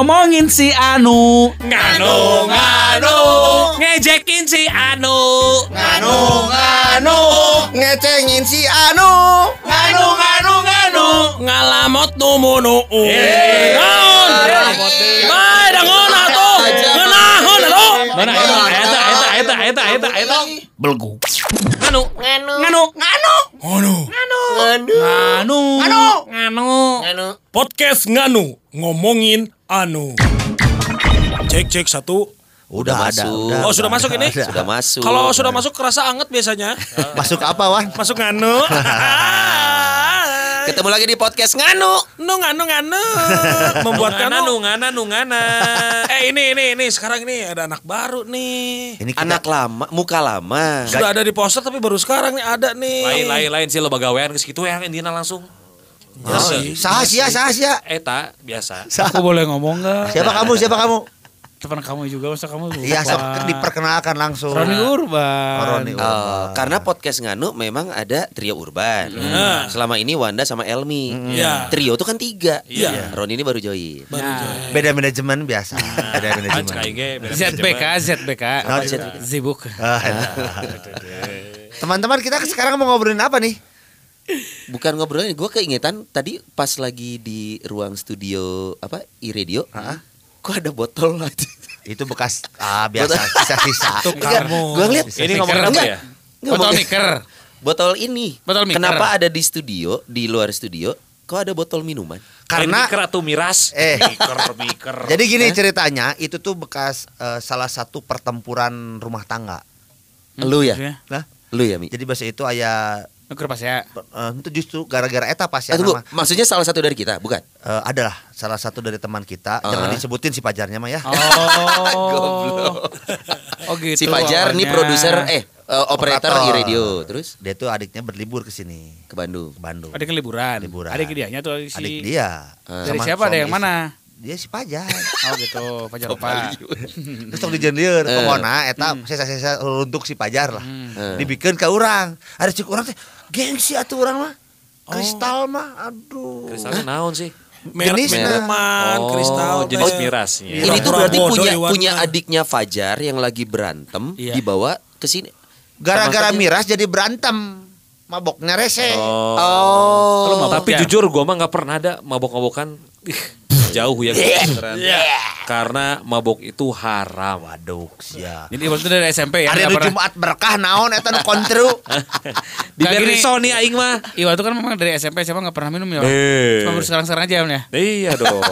ngomongin si Anu. Nganu Ngejekin si Anu. Nganu ngecengin si Anu. Nganu Ngalamot numunu. Naon? Bae dangon atuh. Ngeunahun atuh. Mana eta belgu. Nganu. Podcast Nganu ngomongin Anu. Cek 1. Udah masuk. Oh, sudah masuk ini? Sudah masuk. Kalau sudah masuk kerasa anget biasanya. Masuk apa, Wan? Masuk Nganu. Ketemu lagi di podcast Nganu. Nganu. Membuat Ngana. Ini sekarang ini ada anak baru nih. Ini anak lama, muka lama. Sudah ada di poster tapi baru sekarang nih ada nih. Lain sih lo bagawean ke situ ya Indina langsung. Sahasia. Eta biasa. Aku boleh ngomong enggak? Siapa kamu? Teman kamu juga, masa kamu lupa? Iya, diperkenalkan langsung. Roni Urban. Karena podcast Nganu memang ada trio urban. Selama ini Wanda sama Elmi. Trio itu kan 3. Roni ini baru join. Beda manajemen biasa. Beda manajemen. ZBK. Zibuk. Teman-teman, kita sekarang mau ngobrolin apa nih? Bukan ngobrolin, gue keingetan tadi pas lagi di ruang studio iRadio. Kok ada botol aja? Itu bekas biasa sisa-sisa. Gue ngeliat ini ngomongin apa ya? Botol miker. Botol ini. Botol miker. Kenapa ada di studio, di luar studio? Kok ada botol minuman? Karena miker atau miras. Miker. Jadi gini ceritanya, itu tuh bekas salah satu pertempuran rumah tangga. Lu ya? Nah, lu ya, Mi. Jadi bahasa itu aya Nuker pas ya. itu justru gara-gara eta pas ya Tunggu, maksudnya salah satu dari kita, bukan? Adalah salah satu dari teman kita. Jangan disebutin si pajarnya mah ya. Goblok. Oh gitu. Si Fajar nih produser operator iRadio. Terus dia tuh adiknya berlibur ke sini, ke Bandung. Adik liburan. Adik dianya tuh si. Adik dia. Dari siapa? Ada yang mana? Dia si Pajar. Oh gitu, Pajar Pak. Terus sok dijendeur pokona eta sesa-sesa untuk si Pajar lah. Dibikeun ka urang. Ada cik urang teh gengsi atuh urang mah. Kristal mah aduh. Kristalnya naon sih? Minuman, kristal. Jenis mirasnya. Ini tuh berarti punya adiknya Fajar yang lagi berantem dibawa ke sini. Gara-gara miras jadi berantem. Maboknya rese. Tapi jujur gua mah nggak pernah ada mabok-mabokan. Jauh ya karena mabok itu haram. Waduh, sia. Jadi waktu dari SMP ya. Hari Jumat berkah naon eta nu kontru. Di Sony aing mah. Iwan itu kan memang dari SMP siapa enggak pernah minum ya. Cuma baru sekarang aja ya. Iya dong.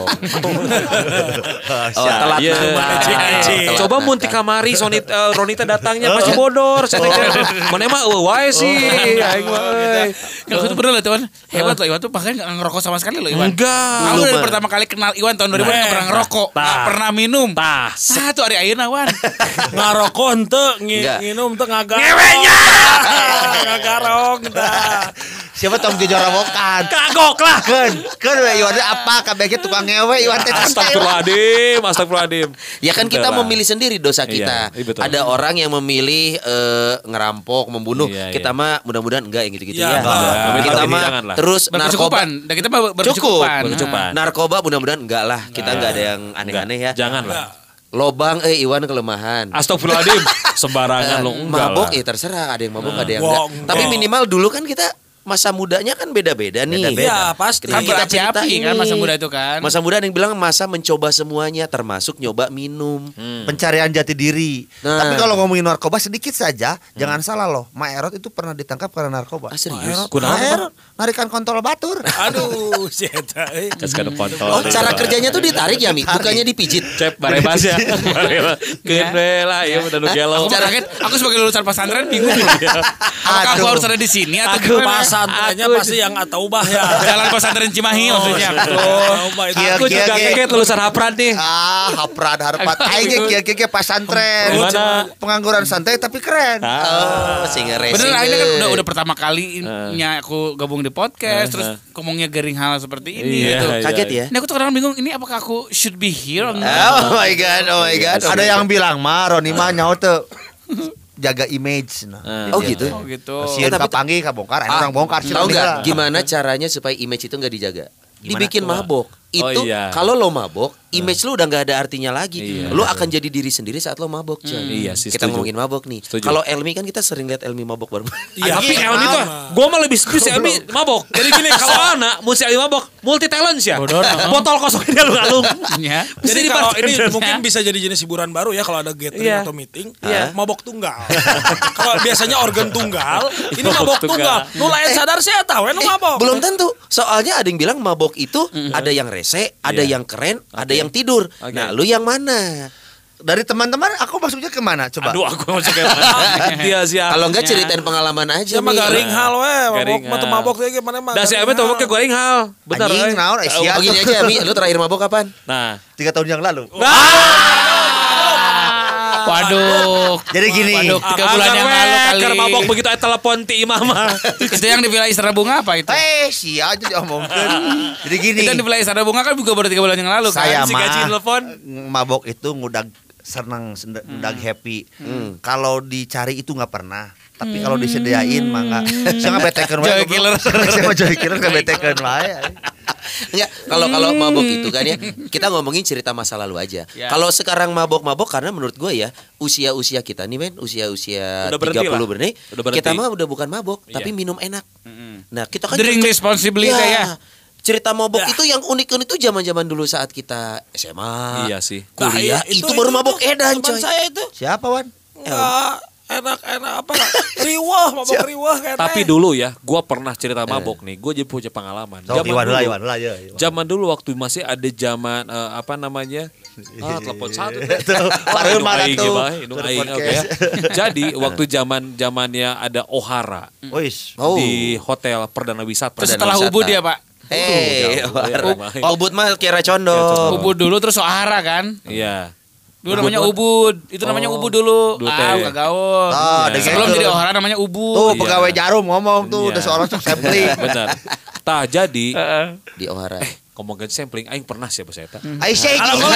Telat Coba mun ti kamari Sony Ronita datangnya pasti bodor. Mana mah wae sih aing mah euy. Kalau itu bener lah Iwan. Hebat loh Iwan tuh bahkan enggak ngerokok sama sekali loh Iwan. Enggak. Aku dari pertama kali kenal Iwan tahun 2000 enggak pernah ngerokok, enggak pernah minum. Satu hari ayeuna Wan. Ngarokok henteu, nginum teu ngagarok. Ngewenya. Ngagarok tah. Siapa tong dijorowokan? Kagok lah. Keun we Iwan apa kabeh tukang ngewe Iwan teh. Astagfirullahaladzim. Ya kan kita memilih sendiri dosa kita. Ada orang yang memilih ngerampok, membunuh. Kita mah mudah-mudahan enggak yang gitu-gitu ya. Kita mah terus narkoba. Dan kita mah berkecukupan. Narkoba mudah-mudahan enggak lah. Kita enggak ada yang aneh-aneh ya. Janganlah. Lobang Iwan kelemahan. Astagfirullahaladzim. Sembarangan lo enggak. Mabok terserah, ada yang mabok ada yang enggak. Tapi minimal dulu kan kita masa mudanya kan beda-beda nih. Iya pasti. Kan kita api kan masa muda itu kan. Masa muda ada yang bilang masa mencoba semuanya termasuk nyoba minum. Pencarian jati diri. Tapi kalau ngomongin narkoba sedikit saja, jangan salah loh. Maerot itu pernah ditangkap karena narkoba. Serius? Maerot narikan kontol batur. Aduh, si eta euy. Kasih kontol. Oh, cara kerjanya tuh ditarik ya, Mi? Bukannya dipijit. Cep barebas ya. Keun lah ieu udah nu gelo. Aku sebagai lulusan pesantren bingung. Apakah aku harus ada di sini atau di Pesantrennya pasti yang ataubah ya. Jalan pesantren Cimahi maksudnya. Aku juga kaget lulusan Hapran nih. Hapran Harpat. Aing kieu pesantren. Pengangguran santai tapi keren. Sehingga racing. Bener akhirnya kan udah pertama kalinya aku gabung di podcast terus ngomongnya garing hal seperti ini gitu. Kaget ya. Ini aku tuh kadang bingung ini apakah aku should be here or not? Oh my god. Ada yang bilang mah Roni mah nyaho teu jaga image Oh gitu. Sieun kapanggih kabongkar, orang bongkar sih. Tahu enggak gimana caranya supaya image itu enggak dijaga? Dibikin mabok. itu kalau lo mabok, image lo udah nggak ada artinya lagi. Lo akan jadi diri sendiri saat lo mabok, coy. Iya sih, kita ngomongin mabok nih. Kalau Elmi kan kita sering lihat Elmi mabok bareng. Iya, tapi Elmi tuh, gue mah lebih si Elmi mabok. Jadi gini, kalau anak mau si Elmi mabok, multi talent sih ya. Botol kosong ini alung-alung. Jadi kalau ini mungkin bisa jadi jenis hiburan baru ya kalau ada gathering atau meeting, mabok tunggal. Kalau biasanya organ tunggal, ini mabok tunggal. Lu lain sadar saya tahu, lu mabok. Belum tentu. Soalnya ada yang bilang mabok itu ada yang rese, ada yang keren, ada yang tidur. Nah, lu yang mana? Dari teman-teman aku masuknya kemana coba? Aduh, aku masuk ke mana? Dia siapa? Kalau enggak ceritain pengalaman aja. Sama garing hal mabok tuh gimana mah. Dah si Ame mabok ke garing hal. Benar. Anjing naon sia. Begini aja Mi, lu terakhir mabok kapan? Nah, 3 tahun yang lalu. Waduh. Jadi gini. Waduh, 3 bulan yang lalu kali. Karena mabok begitu telepon ti imama. Itu yang di Villa Istana Bunga apa itu? Sia aja diomongkeun. Jadi gini. Itu yang di Villa Istana Bunga kan juga baru 3 bulan yang lalu kan. Saya Si gaji mah telepon. mabok itu ngudag senang, ngudag happy. Kalau dicari itu nggak pernah. Tapi kalau disediain mah enggak. Saya nggak betekeun wae. Joy killer. Saya mah joy killer nggak betekeun wae. Enggak, kalau mabok itu kan ya, kita ngomongin cerita masa lalu aja. Kalau sekarang mabok-mabok karena menurut gue ya, usia-usia kita nih men, usia-usia 30 bernih, kita mah udah bukan mabok, tapi minum enak. Nah, kita kan Drink responsibly ya. Cerita mabok itu yang unik-unik itu zaman-zaman dulu saat kita SMA. Iya sih. Kuliah itu baru mabok edan coy. Saya itu. Siapa Wan? Enak apa riwah mabok riwah kayak tapi dulu ya gua pernah cerita mabok nih, gua jadi punya pengalaman zaman dulu waktu masih ada zaman apa namanya telepon satu jadi waktu zamannya ada Ohara di hotel Perdana Wisata setelah Ubud ya Pak. Ubud mah kira condo. Ubud dulu terus Ohara kan. Iya. Dulu namanya Ubud. Itu namanya Ubud dulu. Enggak gaul. Sebelum jadi Ohara namanya Ubud. Tuh pegawai Jarum ngomong tuh udah seorang sampling. Benar. Tah jadi di Ohara. Ngomongin sampling aing pernah siapa saya tah. Aisyah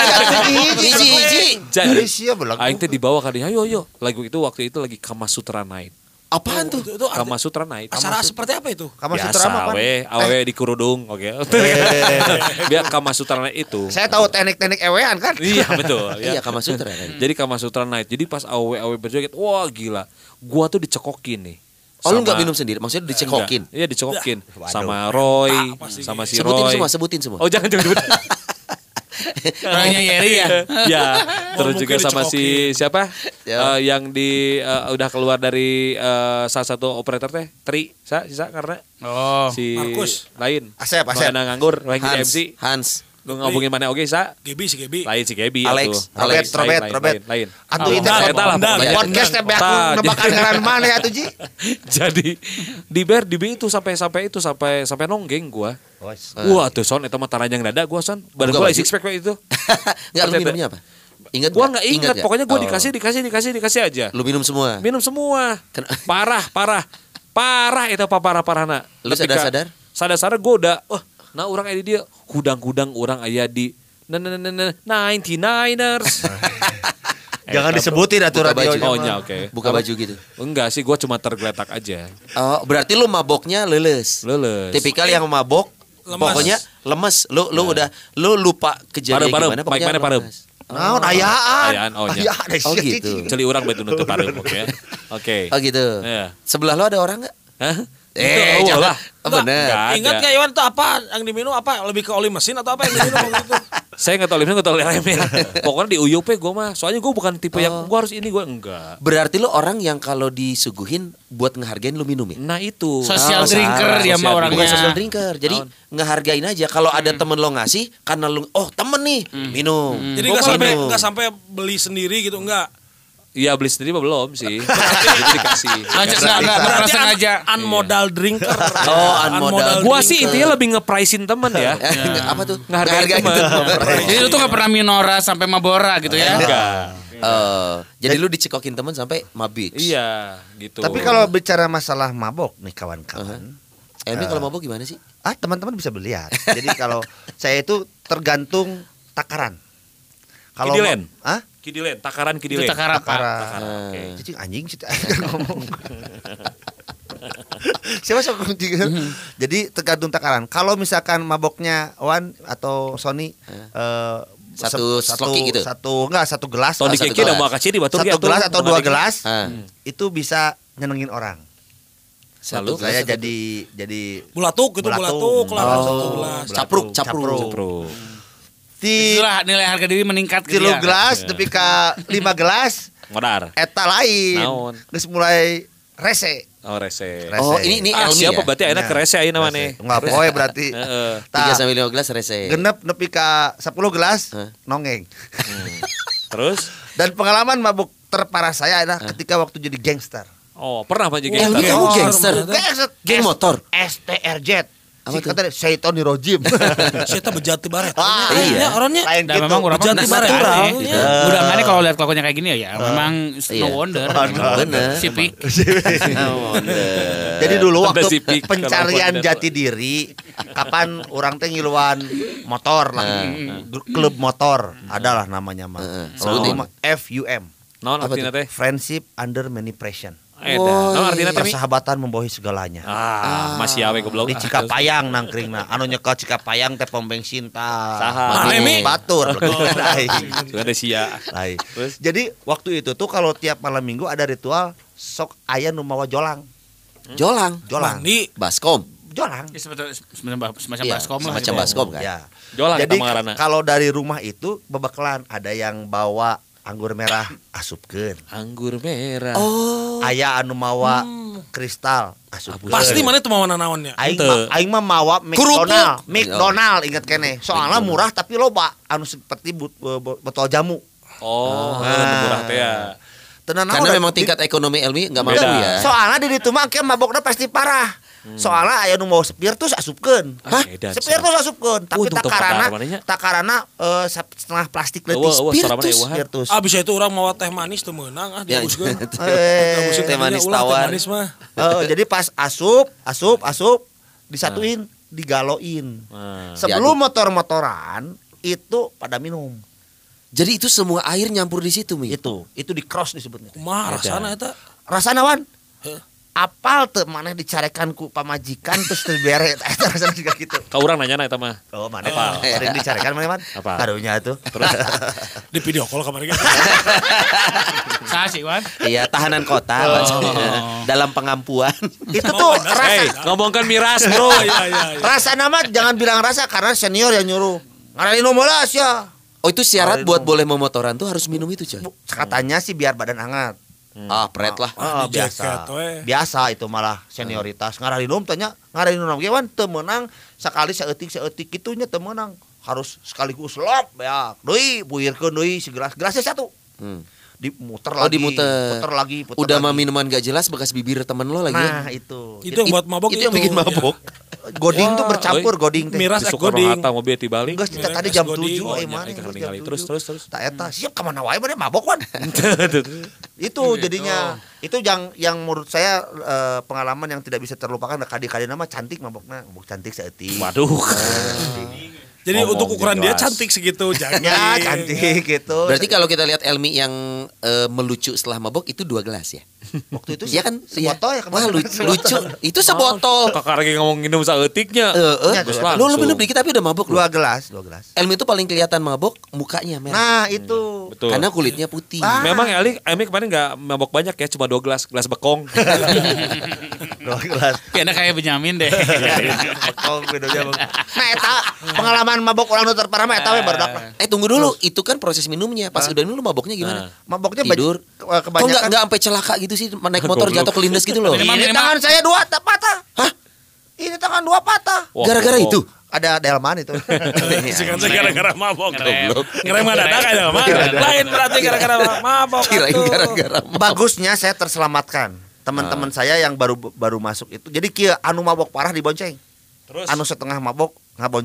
Jadi aing teh dibawa ka dia. Ayo. Lagu itu waktu itu lagi Kama Sutra Night. Apaan tuh? Kama Sutra Night. Acara seperti apa itu? Kama Sutra apa? Awe di kerudung, oke. Biar Kama Sutra Night itu. Saya tahu teknik-teknik ewean kan? Iya betul. Iya Kama Sutra kan. Jadi Kama Sutra Night. Jadi pas awe berjoget, wah gila. Gua tuh dicekokin nih. Oh lu gak minum sendiri? Maksudnya dicekokin? Iya dicekokin. Sama Roy, sama si Roy. Sebutin semua. Oh jangan. Orangnya Yeri ya. Ya, terus juga sama si siapa? Yang di udah keluar dari salah satu operator teh, sisa karena si Markus lain. Asep. Nganggur, lagi di MC. Hans. Lu ngomongin mana oke sa? Gebi. Lain si Gebi. Alex. Robert. Lain. Atuh itu podcast teh aku nebakan ngaran mana ya tuh Ji? Jadi di BR itu sampai nonggeng gua. Wah tuh son eta mah taranjang dada gua son. Badan gua six pack itu. Enggak lu minumnya apa? Ingat gua enggak ingat pokoknya gua dikasih aja. Lu minum semua. Parah itu parah-parahna. Lu sadar? Sadar gua udah nah orang aya di dia hudang-hudang orang aya di 99ers. Jangan disebutin aturan radionya. Oke. Buka baju gitu. Enggak sih, gua cuma tergeletak aja. Oh, berarti lu maboknya leles. Tipikal yang mabok pokoknya lemes. Lu lupa kejadian gimana pokoknya. Parem. Naon ayaan. Oh gitu. Celi urang betul nutup parem, oke. Oh gitu. Sebelah lu ada orang enggak? Hah? Jangan. Bener. Ingat gak Iwan itu apa yang diminum apa? Lebih ke oli mesin atau apa yang diminum gitu? Saya nggak tahu limitnya, nggak tahu remnya. Pokoknya di UUP gue mah, soalnya gue bukan tipe yang gue harus ini, gue enggak. Berarti lo orang yang kalau disuguhin buat ngehargain lo minum ya? Nah itu. Social drinker dia mah orangnya. Bukan social drinker, jadi ngehargain aja. Kalau ada temen lo ngasih, karena lo, temen nih minum. Jadi nggak sampai beli sendiri gitu, enggak? Iya beli sendiri mah belum sih. Jadi dikasih. Enggak sengaja. Unmodal drinker. Unmodal. Gua sih intinya lebih nge-price-in temen ya. Apa tuh? Ngehargain temen. Jadi lu tuh gak pernah minora sampai mabora gitu ya? Enggak. Jadi lu dicekokin temen sampai mabik. Iya, gitu. Tapi kalau bicara masalah mabok nih kawan-kawan. Ini kalau mabok gimana sih? Teman-teman bisa belihat. Jadi kalau saya itu tergantung takaran. Kalau Kidilen, takaran Kidilen. Takaran. Jadi anjing sih ngomong. Siapa sok Jadi tergantung takaran. Kalau misalkan maboknya Wan atau Sony satu gitu. Satu gelas. Satu gelas atau 2 gelas itu bisa nyenengin orang. Satu saya jadi bulatuk gitu, bulatuk lah satu gelas. Capruk. Itulah nilai harga diri meningkat 3 gelas tapi ka 5 gelas modar. Eta lain. Geus mulai rese. Oh rese. Oh ini Elmi siapa ya? Berarti ayeuna ke rese ayeuna maneh. Enggak poe berarti. 3 sampai 5 gelas rese. Genep nepi ka 10 gelas nongeng. Terus dan pengalaman mabuk terparah saya adalah ketika waktu jadi gangster. Oh, pernah apa jadi gangster? Kamu gangster. Geng motor. STRJ. Si kata Syaiton Rojim. Syaiton bejati baret. Iya, orangnya. Dan memang orang bejati baret. Udah mana kalau lihat kelakuannya kayak gini ya, memang no wonder. Bener. Sipik. Jadi dulu waktu pencarian jati diri, kapan orang teh ngiluan motor lah, klub motor, adalah namanya mah. FUM. Non artinya teh Friendship Under Many Pressure. Non artinya teh persahabatan membawahi segalanya. Masih awe goblok. Di Cikapayang nangkringna. Anu nyekel Cikapayang teh pom bensin tah. Saha? Batur. Sudah sia. Jadi waktu itu tuh kalau tiap malam Minggu ada ritual sok aya nu mawa jolang. Jolang. Mandi baskom. Jolang. Semacam baskom lah. Semacam baskom kan. Ya. Jolang. Jadi kalau dari rumah itu bebeklan ada yang bawa anggur merah asupkeun. Anggur merah. Oh. Aya anu mawa kristal asupkeun. Pasti mana itu mawa nanaonnya? Aing mah mawa McDonald inget kene. Soalnya murah tapi loba anu seperti botol jamu. Oh, murah teh ya. Karena memang tingkat ekonomi Elmi enggak mampu ya. Soalnya di ditu mah mabokna pasti parah. Soalnya aya nu mau spiritus asupkeun. Spiritus asupkeun, tapi takarana setengah plastik leutik spiritus. Bisa itu orang mau teh manis teu meunang dihabuskeun. Teh manis tawar. Jadi pas asup disatuin, digaloin. Sebelum motor-motoran itu pada minum. Jadi itu semua air nyampur di situ, Mi. Itu di cross disebutnya. Kumaha rasana eta? Rasana wan? Apal teu maneh dicarekan ku pamajikan terus teu bere eta rasana juga gitu. Ka urang nanyana eta mah. Oh, maneh sering dicarekan maneh, Man? Karunya tuh. Terus di video call kamari kan. Saha sih, Wan? Iya, tahanan kota dalam pengampuan. Itu tuh rasa ngomongkan miras, Bro. Iya. Rasana mah jangan bilang rasa karena senior yang nyuruh. Ngarain molas ya. Oh, itu syarat buat boleh memotoran tuh harus minum itu, Coy. Katanya sih biar badan hangat. Pret lah. Biasa itu malah senioritas. Ngaralinum tanya, ngaralinum ge wan teu meunang sakali saeutik kitunya teu meunang. Harus sekaligus lop ya. Deui buirkeun deui segelas-gelasnya satu. Dimuter lagi. Puter lagi. Udah mah minuman gak jelas bekas bibir temen lo lagi. Nah, itu. Itu yang buat mabok itu. Yang bikin mabok. Goding tuh bercampur goding teh. Miras goding. Hata mobil tibalik. Geus tadi jam 7 mana. Terus. Tak eta siap ka mana wae mah mabok wan. Itu jadinya itu yang menurut saya pengalaman yang tidak bisa terlupakan. Kadi-kadi nama cantik mabokna, mabok cantik saeutik. Waduh. Jadi untuk ukuran dia cantik segitu, jangan. Ya, cantik gitu. Berarti kalau kita lihat Elmi yang melucu setelah mabok itu 2 gelas ya? Waktu itu ya kan sebotol ya kemarin. Wah, lucu. Itu sebotol. Kakak lagi ngomong minum saeutiknya. Lu minum dikit tapi udah mabok. 2 gelas. Elmi itu paling kelihatan mabok mukanya merah. Nah, itu. Betul. Karena kulitnya putih. Memang Elmi kemarin enggak mabok banyak ya, cuma 2 gelas bekong. 2 gelas. Kayaknya kayak Benyamin deh. Bekong bedanya. Nah, eta pengalaman mabok orang nu terparah mah eta we barudak. Tunggu dulu, itu kan proses minumnya. Pas udah minum maboknya gimana? Maboknya tidur. Kebanyakan enggak sampai celaka gitu sih, naik motor jatuh kelindes gitu loh. Ini tangan saya 2 patah. Hah? Ini tangan 2 patah. Gara-gara itu. Ada delman itu. Sekarang gara-gara mabok. Ngerem dadak aja mah. Lain berarti gara-gara mabok. Kirain gara-gara mabok. Bagusnya saya terselamatkan. Teman-teman saya yang baru masuk itu. Jadi kieu anu mabok parah dibonceng. Terus anu setengah mabok ngabonceng.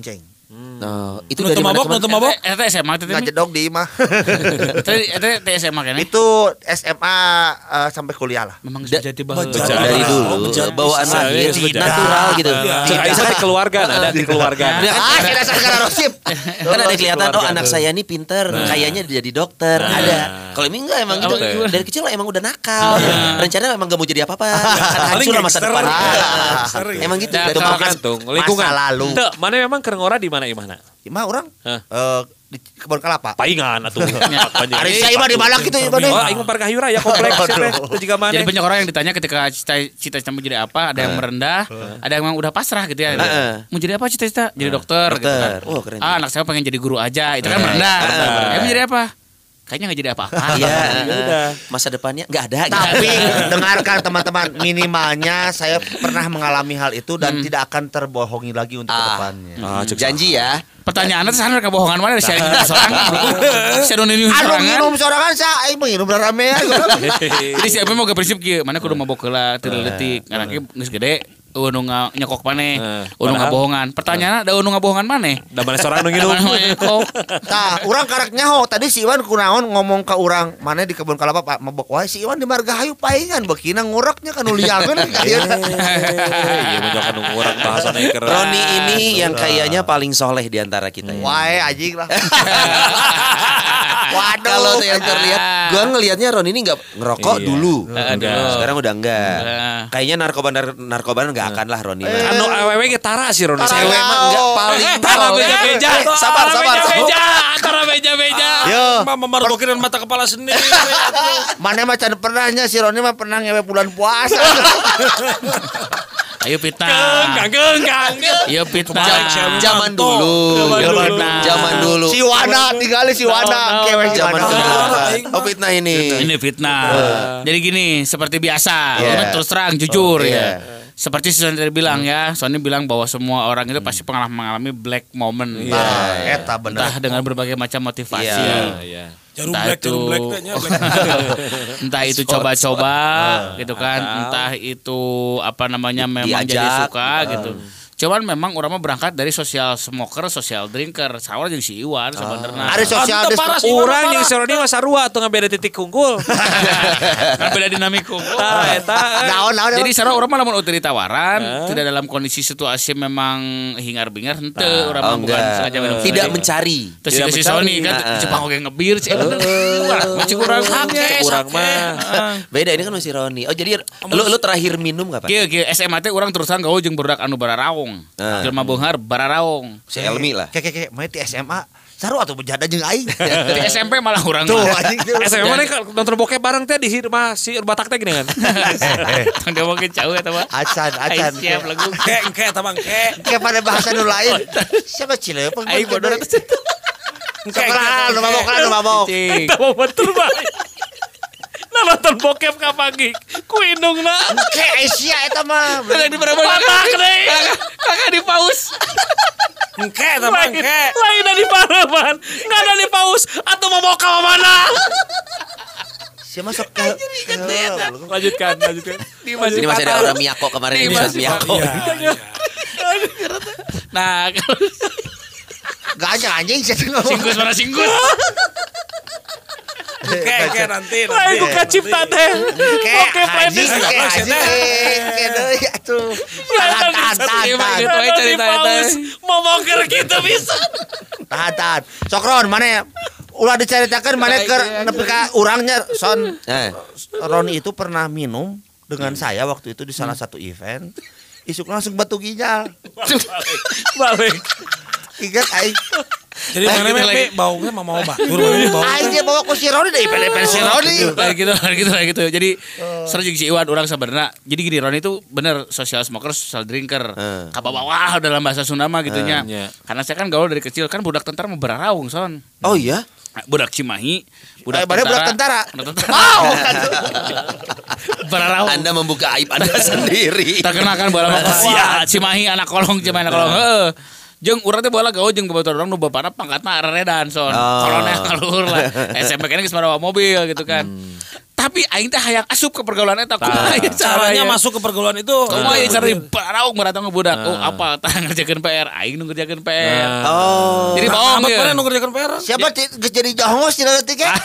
Nah, itu dari mana? Nonton mabok. Eta SMA teh. Enggak jedog di imah. Eta SMA kan? Itu SMA sampai kuliah lah. Memang sejati bahwa dari dulu bawaan lahir natural gitu. Tidak keluarga, ada di keluarga. Kita sekarang Rosip. Kan ada kelihatan anak saya ini pinter, kayaknya jadi dokter. Ada. Kalau ini enggak emang gitu. Dari kecil emang udah nakal. Rencana emang gak mau jadi apa-apa. Hancur lah masa depan. Emang gitu. Tergantung lingkungan. Masa lalu. Mana memang Kerengora di mana imahna? Imah orang di Kebun Kelapa. Paingan atuh. Ari saya mah di mana gitu ya, Oh, aing mah Parkah Hayura ya kompleks teh. Juga mana? Jadi banyak orang yang ditanya ketika cita-cita mau jadi apa, ada yang merendah, ada yang memang udah pasrah gitu ya. Mau jadi apa cita-cita? Jadi dokter gitu kan. Oh, keren. Anak saya pengen jadi guru aja, itu kan merendah. Mau jadi apa? Kayaknya gak jadi apa-apa. Iya, masa depannya nggak ada. Tapi dengarkan teman-teman, minimalnya saya pernah mengalami hal itu dan tidak akan terbohongi lagi untuk kedepannya. Janji ya. Pertanyaannya sana kebohongan mana sih seorang? Saya ini Aduh minum sorangan saya minum rame ya. Jadi siapa mau ke prinsip kieu, mana kudu mabok heula teu leutik, anaknya geus gede. Nu nyekok maneh, nu ngabohongan. Pertanyaanna da nu ngabohongan maneh? Da mana seorang nu ngilu. Tah, urang karek nyaho. Tadi si Iwan kunaon ngomong ka urang, maneh di Kebun Kelapa Pak mabok wae si Iwan di Margahayu paingan beukina ngureknya kan uliangeun. Iya menjokan ngurek bahasana keren. Roni ini yang kayaknya paling soleh di antara kita ya. Wae anjing lah. Waduh, kalau yang terlihat, gua ngelihatnya Roni ini nggak ngerokok dulu. Sekarang udah enggak. Kayaknya narkoba nggak akan lah Roni. Anu awewe ge tara sih Roni. Cewek mah enggak paling tara beja-beja. Sabar. Antara beja-beja. Yo, Memergokin mata kepala sendiri. mana macan pernahnya si Roni mah pernah ngewe bulan puasa. Ayo fitnah. Kang. Ayo fitnah. Zaman dulu. Si Wana tinggal si Wana kewe Zaman Wana. dulu. Oh fitnah ini. Ini fitnah. Jadi gini, seperti biasa. Terus terang jujur ya. Seperti Sony tadi bilang ya, Sony bilang bahwa semua orang itu pasti pernah mengalami black moment. Eta bener. Entah dengan berbagai macam motivasi. Entah itu coba-coba gitu kan, entah itu apa namanya memang jadi suka gitu. Cuman memang orang mah berangkat dari social smoker, social drinker. Sama jeung si Iwan sebenarnya. Ada social urang jeung si Roni mah sarua atuh ngabeda titik unggul. Ngabeda dinamik unggul. Naon. Jadi sarua urang mah lamun uteuy ditawaran, tidak dalam kondisi situasi memang hingar-bingar henteu urang mah bukan sengaja minum. Tidak mencari. Terus si Sony kan Jepang oge ngebir cek. Macam urang hake urang mah. Beda ini kan si Roni. Oh jadi lu terakhir minum kapan? Kieu SMA teh urang terusan gaul jeung budak anu bararaong. Jelema beunghar bararaong. Si Elmi lah. Keke mah di SMA saru atuh bejada jeung aing. Di SMP malah urang. Tuh anjing. SMA mah nonton bokep bareng teh di rumah si batak teh gini kan. Tong dia mungkin jauh eta mah. Acan. Siap lagu. Engke eta mah engke. Kayak pada bahasa nu lain. Siapa Cileupeng? Aing bodoh atuh. Sekolah nu mabok. Eta mah betul bae. Nonton bokep ka pagi ku indungna Engke Asia eta mah. Kakak di berapa kakak di paus. Engke eta mah engke. Lain di paraman, enggak ada di paus atau mau ka mana? Si masuk ke Lanjutkan. Ini masih ada orang Miyako kemarin ini Miyako. Nah, gak anjing singkus mana singkus. Engke nanti. Lain ku kacipta teh. Oke, playlist. Atuh. Tahan. Mau moker gitu bisa. Tahan. Sokron mana ulah diceritakan mana ke nepi ka urangnya Son. Roni itu pernah minum dengan saya waktu itu di salah satu event. Isuk langsung batu ginjal. Balik. Ingat aing. Jadi mana lagi baunya mau batur bau. Aing dia bawa ku si Roni dari event si Roni. Gitu. Jadi seru jeung si Iwan urang sebenarnya. Jadi gini Roni itu bener social smoker, social drinker. Kabawah dalam bahasa Sunda mah gitunya. Karena saya kan gaul dari kecil kan budak tentara mau bararaung Son. Oh iya? Budak Cimahi, budak tentara. Wow. Bararaung. Anda membuka aib Anda sendiri. Terkenal kan bola Cimahi anak kolong. Jeung urang teh bola gawe jeung babaturan urang nu bapana pangkatna reredan son. Kolonel alur lah. SMP kan geus marawa mobil gitu kan. Tapi aing teh hayang asup ke pergaulan eta. Kumaha caranya masuk ke pergaulan itu? Kumaha cara baraog meratang budak. Oh apa tah ngerjakeun PR, aing nu ngerjakeun PR. Jadi baong mana nu ngerjakeun PR? Siapa geus jadi jongos cenah teh ge?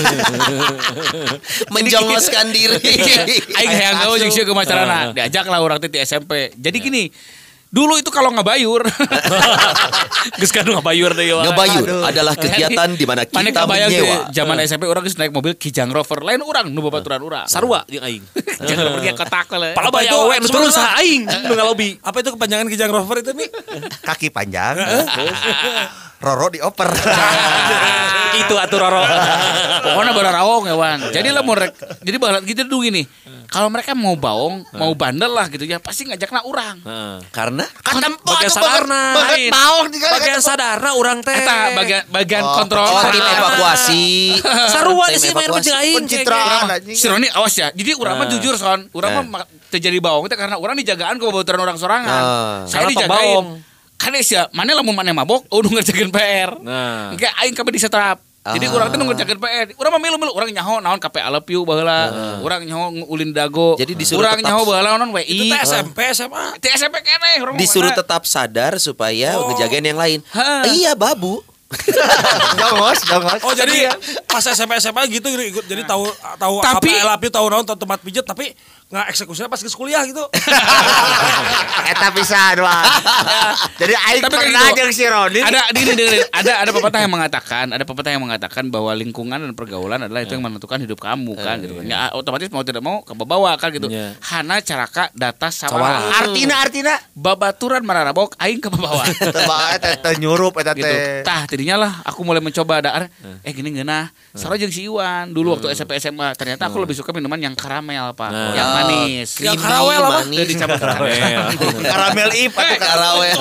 Menjongoskan diri. Aing hayang gawe jeung sieu ke macarana. Diajaklah urang teh di SMP. Jadi gini, dulu itu kalau ngabayur, geus kanu ngabayur deh. Ngabayur adalah kegiatan di mana kita menyewa. Zaman SMP orang geus naik mobil Kijang Rover, lain urang nu babaturan urang. Sarua jeung aing. Kijang Rover dia kotak we. Pala baya we nu terus aing nu ngalobi. Apa itu kepanjangan Kijang Rover itu nih? Kaki panjang. Roro dioper. Itu atuh Roro. Pokoknya bararaong ya Wan. Jadi lah mau jadi balat gitu dulu gini. Kalau mereka mau baong, mau bandel lah gitu ya, pasti ngajakna urang. Karena bagian sadarna. Bagian sadarna urang teh. Eta bagian kontrol. Tim evakuasi. Sarua sih main jeung aing. Pencitraan. Si Roni awas ya. Jadi urang mah jujur son. Urang mah terjadi baong teh karena urang dijagaan ke babaturan orang sorangan. Saya dijagain. Kan ya, mana lamun mana mabok, nu ngerjakeun PR. Engke aing kabeh disetrap. Jadi urang teh nu ngerjakeun PR. Urang mah milu-milu urang nyaho naon KP I love you baheula. Urang nyaho ulin dago. Jadi disuruh urang nyaho baheula naon WI. Itu SMP SMA. Di SMP keneh urang disuruh tetap sadar supaya ngejagain yang lain. Iya, babu. Jongos. Oh jadi pas SMP SMA gitu ikut jadi tahu tapi, KP I love you tahu naon tempat pijet tapi nggak eksekusinya pas ke kuliah gitu. Eta pisan wah. Jadi aing pernah jeung si Roni. Ada pepatah yang mengatakan bahwa lingkungan dan pergaulan adalah itu yang menentukan hidup kamu kan gitu. Ya otomatis mau tidak mau kebawa kan gitu. Hana caraka data sawah. Artina babaturan mararabok aing kebawa. Teh nyurup eta teh. Gitu. Tah tidinya lah aku mulai mencoba ada gini ngeunah. Sarua jeung si Iwan dulu waktu SMP SMA ternyata aku lebih suka minuman yang karamel Pak. Yang manis. Yang karawel apa? Dicampur karamel. Karamel ip atau karawel.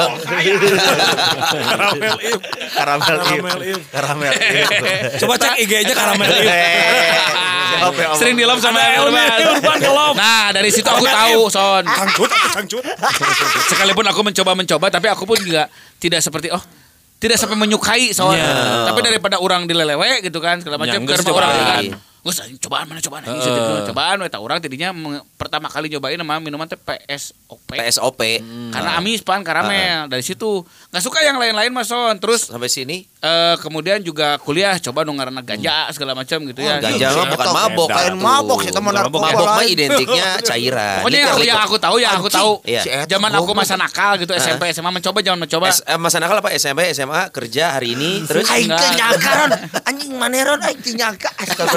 Karamel ip. Coba cek IG-nya karamel ip. Sering di love sama Urban. Nah, dari situ aku tahu, Son. Cangcut. Sekalipun aku mencoba tapi aku pun juga tidak seperti tidak sampai menyukai soalnya. Tapi daripada orang dilelewe gitu kan segala macam karena orang kan. Cobaan we tah urang tidinya pertama kali nyobain nama minuman teh PSOP. Karena amis pan karamel. Dari situ enggak suka yang lain-lain Mas Son. Terus sampai sini kemudian juga kuliah coba nu ngaranna ganja segala macam gitu ya. Ganja mah bukan mabok. Lain mabok sih teman narkoba. Mabok mah identiknya cairan. Pokoknya yang aku tahu. Zaman aku masa nakal gitu SMP SMA mencoba. Masa nakal apa SMP SMA kerja hari ini terus aing teh nyangkaron anjing maneron aing teh nyangka.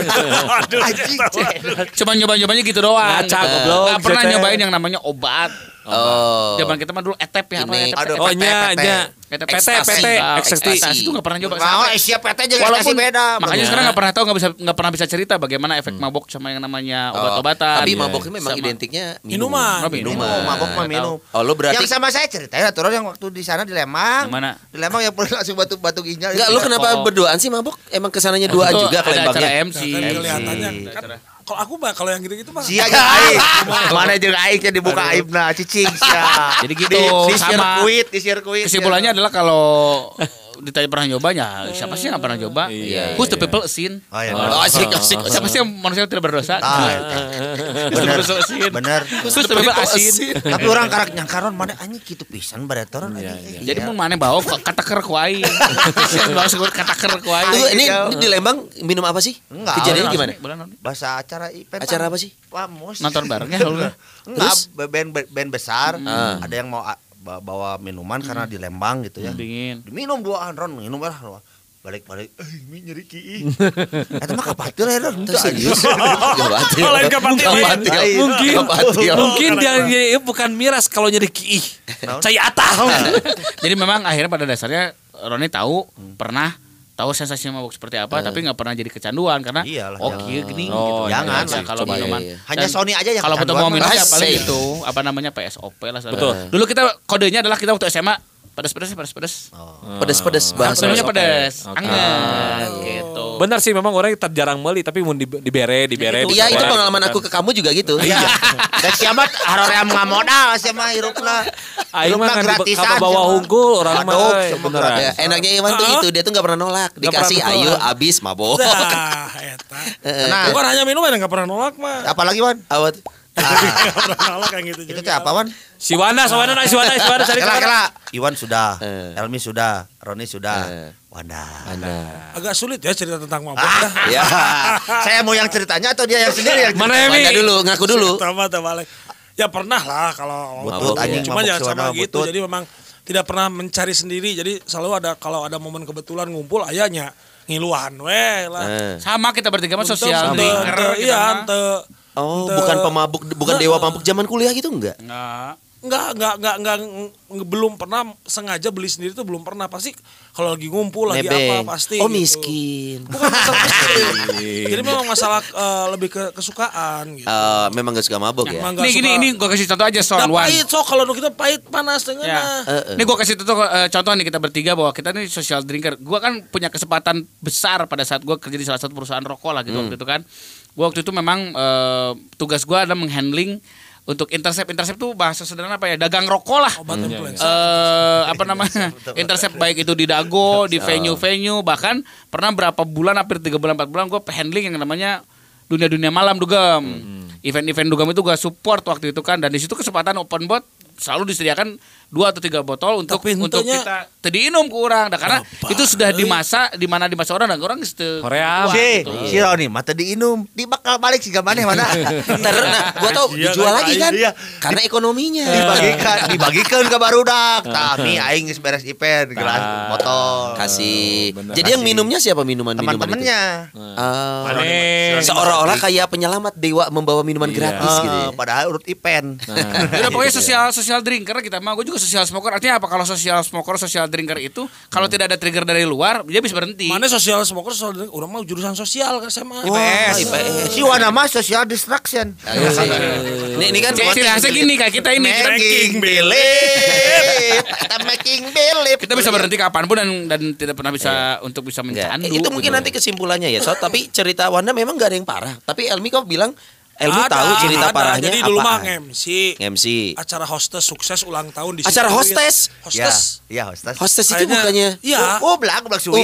Cuma nyoba-nyobanya gitu doang. Gak pernah nyobain yang namanya obat. Zaman kita mah dulu etep ya apa PT ekstasi itu nggak pernah nyoba. Siap PT juga ekstasi beda. Makanya sekarang nggak pernah bisa cerita bagaimana efek mabok sama yang namanya obat-obatan. Tapi mabok memang identiknya minuman. Mabok mah minum. Lo berarti yang sama saya ceritain aturan yang waktu di sana di Lembang. Mana? Di Lembang yang pernah langsung batu ginjal. Enggak, lo kenapa berduaan sih mabok? Emang kesananya duaan juga ke Lembangnya. MC. Kelihatannya kalau aku mah kalau yang gitu-gitu mah sia jeung aing. Mana jeung aing dibuka aibna cicing sia. Jadi gitu sama di sirkuit. Kesimpulannya adalah kalau ditanya pernah nyobanya, siapa sih yang pernah nyoba? Who's the people sin? Asik. Siapa sih yang manusia tidak berdosa? Bener. Who's the people asin? Tapi orang karak nyangkaron mana anjing kitu pisan baretoran anjing. Jadi mun maneh bawa kataker ku aing. Bawa sebut kataker ku aing. Ini di Lembang minum apa sih? Kejadiannya gimana? Bahasa acara event. Acara apa sih? Nonton barengnya lu. Enggak, band besar, ada yang mau bawa minuman karena di Lembang gitu ya. Dingin. Diminum duaan Ron, minum lah. Balik-balik, ini nyeri kieu. Eta mah kapatil ya Ron. Serius. Mungkin dia bukan miras kalau nyeri kieu. Cai atah. Jadi memang akhirnya pada dasarnya Roni tahu pernah tahu sensasi mabuk seperti apa tapi nggak pernah jadi kecanduan karena gini gitu. Jangan ya, kalau minuman hanya Sony aja yang kalau betul mau minum ya paling itu apa namanya PSOP lah. Betul. Dulu kita kodenya adalah kita waktu SMA Pedas. Pedas bahasanya pedas. Anget gitu. Benar sih memang orang jarang meuli tapi mun dibere. Iya itu pengalaman aku ke kamu juga gitu. Iya. Dan siapa haroream ngamodal siapa hirupna. Aing mah gratisan bawa hungkul orang mah. Bener. Enaknya Iwan tuh itu dia tuh enggak pernah nolak. Dikasih ayo habis mabok. Nah, bukan hanya minum yang enggak pernah nolak mah. Apalagi Wan? Awat. Enggak pernah nolak kayak gitu. Itu teh apa Wan? Si Wanda cari kela. Iwan sudah, Elmi sudah, Roni sudah, Wanda. Agak sulit ya cerita tentang mabok. Ya. Saya mau yang ceritanya atau dia yang sendiri yang Mana Wanda dulu, ngaku dulu. Ya pernah lah kalau mabuk. Cuma jangan sama gitu. Butut. Jadi memang tidak pernah mencari sendiri. Jadi selalu ada kalau ada momen kebetulan ngumpul ayahnya ngiluan we lah. Sama kita bertiga mah sosial drinker. Iya, bukan pemabuk, bukan dewa mabuk zaman kuliah gitu enggak? Enggak, belum pernah sengaja beli sendiri tuh belum pernah. Pasti kalau lagi ngumpul lagi apa pasti. Oh gitu. Miskin. Bukan masalah miskin. Jadi memang masalah lebih ke kesukaan gitu. Memang gak suka mabuk ya. Ini gue kasih contoh aja soal Wan. Pahit kalau kita pahit panas dengan. Ini gue kasih contoh nih kita bertiga bahwa kita nih social drinker. Gue kan punya kesempatan besar pada saat gue kerja di salah satu perusahaan rokok lah gitu waktu itu kan. Gue waktu itu memang tugas gue adalah menghandling untuk intercept tuh bahasa sederhana apa ya, dagang rokok lah. Apa namanya, intercept baik itu di dago, di venue, bahkan pernah berapa bulan, hampir 3 bulan 4 bulan gue handling yang namanya dunia malam dugem. Event-event dugem itu gue support waktu itu kan, dan di situ kesempatan open bot selalu disediakan 2 atau 3 botol untuk kita tadiinum ke orang. Karena itu sudah di masa orang dan orang Korea. Si Roni mah tadiinum, di bakal balik sih gamane mana. Nah, gua tahu dijual lagi kan. Karena ekonominya. Dibagikan ke barudak. Tapi aing geus beres event gelas botol. Kasih. Jadi yang minumnya siapa minuman-minuman itu? Teman-temannya. Seolah-olah kayak penyelamat dewa membawa minuman gratis gitu. Padahal urut event. Udah pokoknya social drinker kita mah. Gue juga social smoker. Artinya apa kalau social smoker, social drinker itu kalau tidak ada trigger dari luar dia bisa berhenti. Mana social smoker, social drinker? Orang mah jurusan sosial kan sama IPS. Si Wana mah social distraction. Ini kan ciri khasnya gini kayak kita ini. Making believe. Kita making believe. Kita bisa berhenti kapanpun dan tidak pernah bisa untuk bisa mencandu. Itu mungkin nanti kesimpulannya ya. Tapi cerita Wanda memang gak ada yang parah. Tapi Elmi kok bilang tahu cerita parahnya. Jadi dulu mah MC acara hostess sukses ulang tahun di situ. Acara hostess? Iya, hostess. Hostess itu bukannya. Iya. Oh, belak suwi.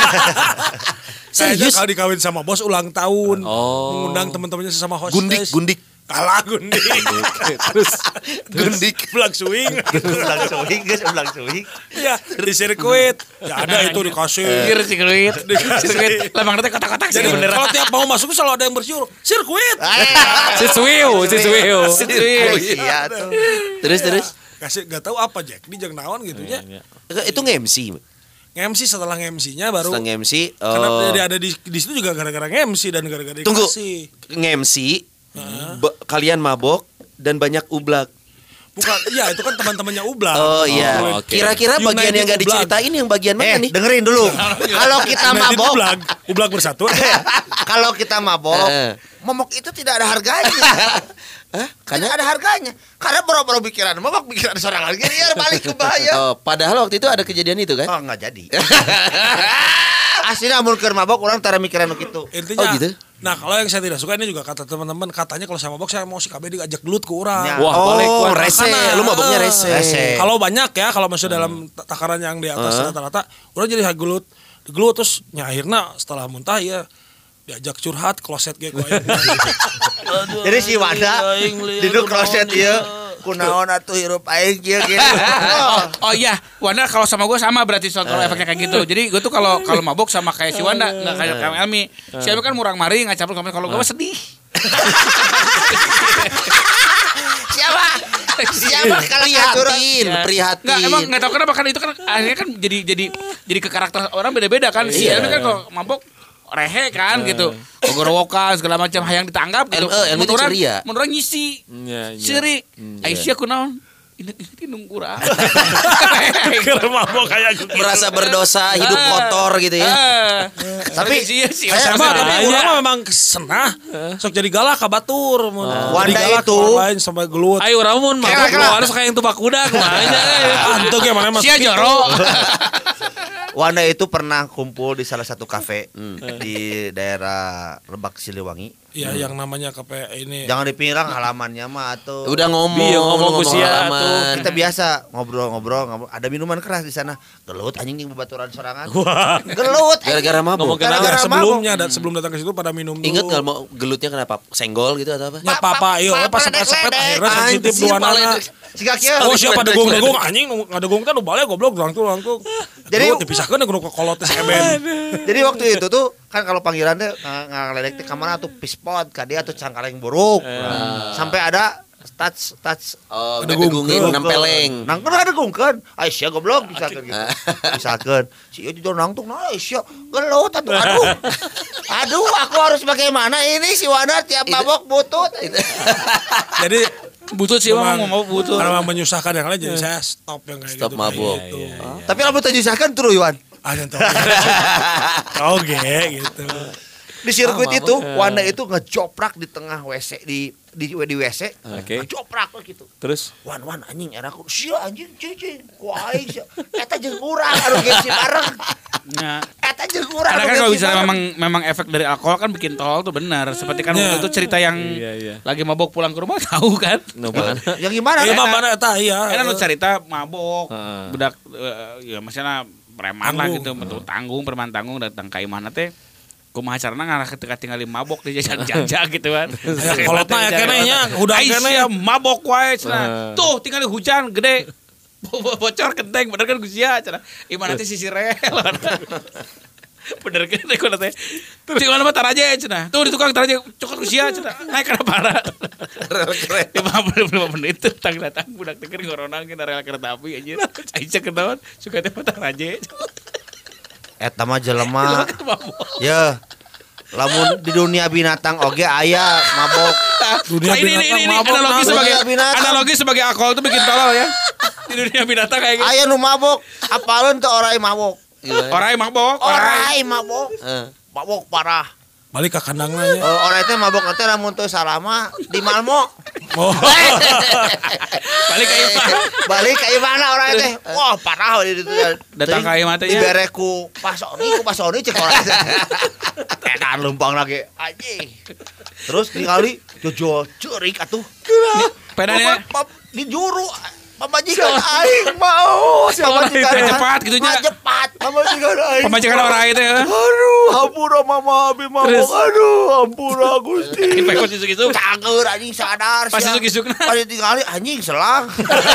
Serius kalau dikawin sama bos ulang tahun. Mengundang teman-temannya sesama hostess. Gundik. Kalah gundik. Terus gundik belak suing. Belak suing. Iya, di sirkuit. Ya ada itu dikasih. Sirkuit. Lemang nanti kotak-kotak sih beneran. Kalau tiap mau masuk selalu ada yang bersiul. Sirkuit. Siswiu. Iya tuh. Terus. Kasih enggak tahu apa Jack, di jeung naon gitu nya. Itu nge-MC. Nge-MC setelah nge-MC-nya baru. Setelah nge-MC. Karena dia ada di situ juga gara-gara nge-MC dan gara-gara dikasih. Tunggu. Nge-MC. Kalian mabok dan banyak ublak. Bukan, ya itu kan teman-temannya ublak. Oh iya. Kira-kira bagian yang gak diceritain yang bagian mana nih? Dengerin dulu. Kalau kita mabok, ublak bersatu. Kalau kita mabok itu tidak ada harganya. Karena ada harganya. Karena boro-boro pikiran mabok pikiran seorang lagi dia balik ke bahaya. Padahal waktu itu ada kejadian itu kan? Oh, enggak jadi. Aslinya amun keur mabok orang tara mikiran gitu. Intinya. Oh gitu. Nah, kalau yang saya tidak suka ini juga kata teman-teman, katanya kalau saya mabok saya mau si KB diajak gelut ke orang. Wah, balik rese. Lu maboknya rese. Kalau banyak ya, kalau masih dalam takaran yang di atas rata-rata, orang jadi gelut terus akhirnya setelah muntah ya diajak curhat kloset ge ku aya. Jadi si Wanda duduk kloset ieu kunaon atuh hirup aing kieu gitu. Oh iya, Wanda kalau sama gue sama berarti kalau efeknya kayak gitu. Jadi gue tuh kalau mabok sama kayak si Wanda, enggak kayak Elmi. Si Elmi kan murang maring ngacapur kalau gue sedih. Siapa kalau prihatin. Enggak, emang enggak tahu kenapa kan itu kan akhirnya kan jadi ke karakter orang beda-beda kan. Si Elmi kan kalau mabok rehe kan gitu, gorowokan segala macam hayang ditanggap gitu. Menurut ceria, menurut ngisi, siri, Aisyah kunaon, inget nungkurang. Keur mabok kayak gitu. Merasa berdosa, hidup kotor gitu ya. Tapi saya orang memang senah sok jadi galak ka batur mun. Wanda itu lain sampai gelut. Ayo urang mun mabok harus kayak yang tupak kuda kumanya. Antuk ya mana sia joro. Wanda itu pernah kumpul di salah satu kafe di daerah Lebak Siliwangi. Iya, yang namanya kafe ini. Jangan dipirang halamannya mah atau. Udah ngomong halaman. Kita biasa ngobrol. Ada minuman keras di sana. Gelut anjing yang bebaturan sorangan. Gelut. Gara-gara mabuk. Sebelumnya sebelum datang ke situ pada minum dulu. Ingat enggak mau gelutnya kenapa? Senggol gitu atau apa? Ya papa, ieu pas sepet-sepet akhirnya sensitif dua anak. Oh siapa degung anjing ngadegung teh nu bale goblok langtung. Jadi dipisahkeun nu kolot teh eben. Jadi waktu itu tuh kan kalau panggilan teh ngaledek teh ka mana tuh pispot ka dia tuh cangkaleng buruk. Sampai ada touch degungin nempeleng. Nang kan degungkeun. Aisyah goblok pisakeun gitu. Pisakeun. Si ieu jujur nangtung nah Aisyah gelut atuh aduh. Aduh aku harus bagaimana ini si Wanda tiap mabok butut. Jadi butut sih mau butut. Karena menyusahkan yang lain jadi saya stop yang kayak gitu. Stop mabuk. Tapi lamun teu nyusahkan terus Iwan. Ada oke gitu. Di sirkuit itu Wanda itu ngejoprak di tengah WC di WC. Ngejoprak gitu. Terus Wan anjing era aku sia anjing cicing ku aing sia. Eta jeung urang anu gengsi bareng. Nah, eta jeung urang. Karena kan kalau bisa memang efek dari alkohol kan bikin tol tuh benar. Seperti kan waktu itu cerita yang lagi mabok pulang ke rumah tahu kan? Yang gimana? Iya mana eta iya. Kan lu cerita mabok budak ya maksudnya preman lah gitu, betul preman tanggung datang ka imahna teh kumaha carana ngarah ketika tinggal mabok di jajan-jajan gitu kan. Kolotna ya keneh nya, udah keneh mabok wae cenah. Tuh tinggal hujan gede. Bocor genteng bener kan Gusia cenah. Imana teh sisi rel. Bener kan teh kuna teh. Terus di mana mah taraje cenah. Tuh di tukang taraje cokot Gusia cenah. Naik kana para. Rel kereta 55 menit tang datang budak teh ngoronang ke rel kereta api anjir. Aisyah kenaon suka teh taraje. Eta mah jelema. Ya. Lamun di dunia binatang oge aya mabok. Dunia binatang ini mabok. Analogi sebagai alkohol itu bikin tolol ya. Di dunia binatang kayak gitu. Aya nu mabok, apaleun teu orai mabok. Orai mabok. Mabok parah. Balik ke kandangna ya. Orai teh mabok teh lamun teu salama di Malmo. Oh. Balik ka mana orai teh. Wah, parah di ditu. Datang ka imah teh. Dibere ku Pasoni cek orai teh. Tenan lempang lagi anjing. Terus ningali jojo ceurik atuh. Pedanya di juru pamajikan aing mau pamajikan cepat gitu nya. Cepat pamajikan aing. Pamajikan orang itu ya. Aduh, hampura mama abi mabok. Aduh, hampura Gusti. Dipekot isuk-isuk. Cager anjing sadar. Pas isuk-isukna. Pas ditinggali anjing selang.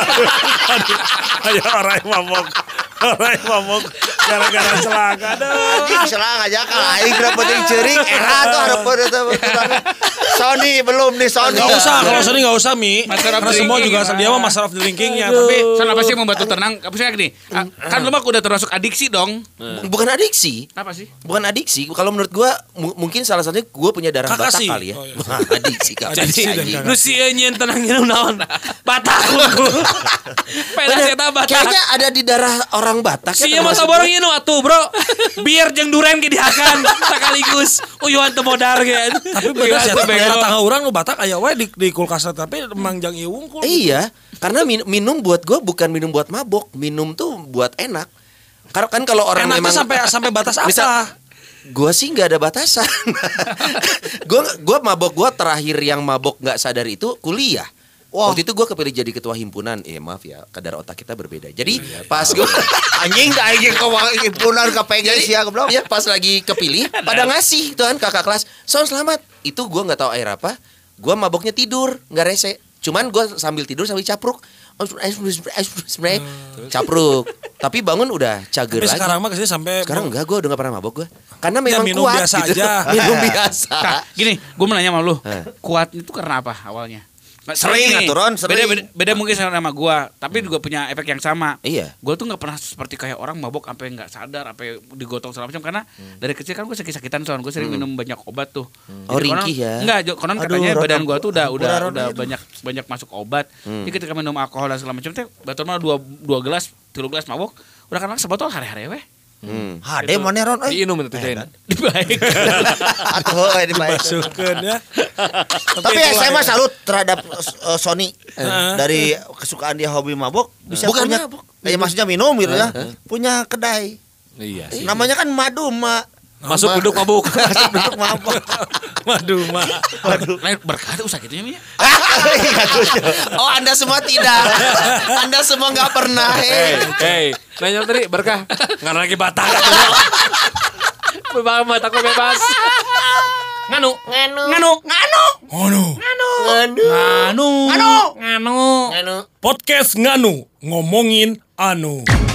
Ayo orang mabok. Orang mabok gara-gara selang. Aduh. Anjing selang aja kan aing dapetin ceuring era tuh hareupeun eta. Sony belum nih Sony. Enggak usah, kalau Sony enggak usah Mi. Karena semua juga dia mah master of drinkingnya. Tapi kenapa sih membantu tenang? Apa sih gini? Kan lu mah udah termasuk adiksi dong. Bukan adiksi. Apa sih? Bukan adiksi. Kalau menurut gua mungkin salah satunya gua punya darah Batak kali ya. Adiksi kak. Lu si nyen tenang nyen naon? Batak ku. Kayaknya ada di darah orang Batak. Sia mah saborong ieu atuh, Bro. Biar jeung duren ge dihakan sakaligus. Uyuhan teu modar ge. Tapi bener sih tangga urang nu Batak aya wae di kulkas tapi mangjang ieu wungkul. Iya, karena minum buat gua bukan minum buat mabok, minum tuh buat enak. Karena kan kalau orang enaknya memang sampai batas apa? Gua sih nggak ada batasan. gua mabok, gua terakhir yang mabok nggak sadar itu kuliah. Waktu itu gue kepilih jadi ketua himpunan. Maaf ya, kadar otak kita berbeda. Jadi pas gue anjing himpunan KPG sih ya goblok. Ya pas lagi kepilih pada ngasih tuh kan kakak kelas. So selamat. Itu gue nggak tahu air apa. Gue maboknya tidur, nggak rese. Cuman gue sambil tidur sambil capruk. Capruk. Tapi bangun udah cager lagi. Sekarang mah kesini sampai. Sekarang enggak, gue udah nggak pernah mabok gue. Karena memang minum kuat biasa gitu. Aja. Minum biasa. Nah, gini, gue mau nanya sama lu. Kuat itu karena apa awalnya? Sering aturan, sering. Beda mungkin sama gua, tapi juga punya efek yang sama. Iya. Gua tuh nggak pernah seperti kayak orang mabok sampai nggak sadar, sampai digotong segala macam karena dari kecil kan gua sakit-sakitan soalnya gua sering minum banyak obat tuh. Oh, ringkih ya. Enggak, konon katanya badan gua tuh udah banyak masuk obat. Jadi ketika minum alkohol dan segala macam teh batur mah 2 gelas, 3 gelas mabok, udah kan sebotol hari-hari weh. Hade mana Ron? Diinum itu teh. Dibaik. Atuh dibaik. Masukkeun ya. Tapi saya mah salut terhadap Sony dari kesukaan dia hobi mabok bisa Bukan punya mabok. Maksudnya minum gitu ya. Punya kedai. Iya. Namanya kan Maduma. Masuk duduk mabuk. Masuk duduk mabok. Maduma. Lain berkah usaha gitu ya. Oh, Anda semua tidak. Anda semua nggak pernah. Hey, nanya tadi berkah. Nggak lagi batak. Batak bebas. Nganu. Podcast Nganu ngomongin anu.